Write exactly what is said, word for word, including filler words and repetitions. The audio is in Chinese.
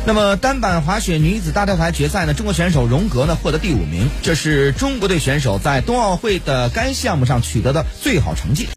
那么单板滑雪女子大跳台决赛呢，中国选手荣格呢获得第五名，这是中国队选手在冬奥会的该项目上取得的最好成绩。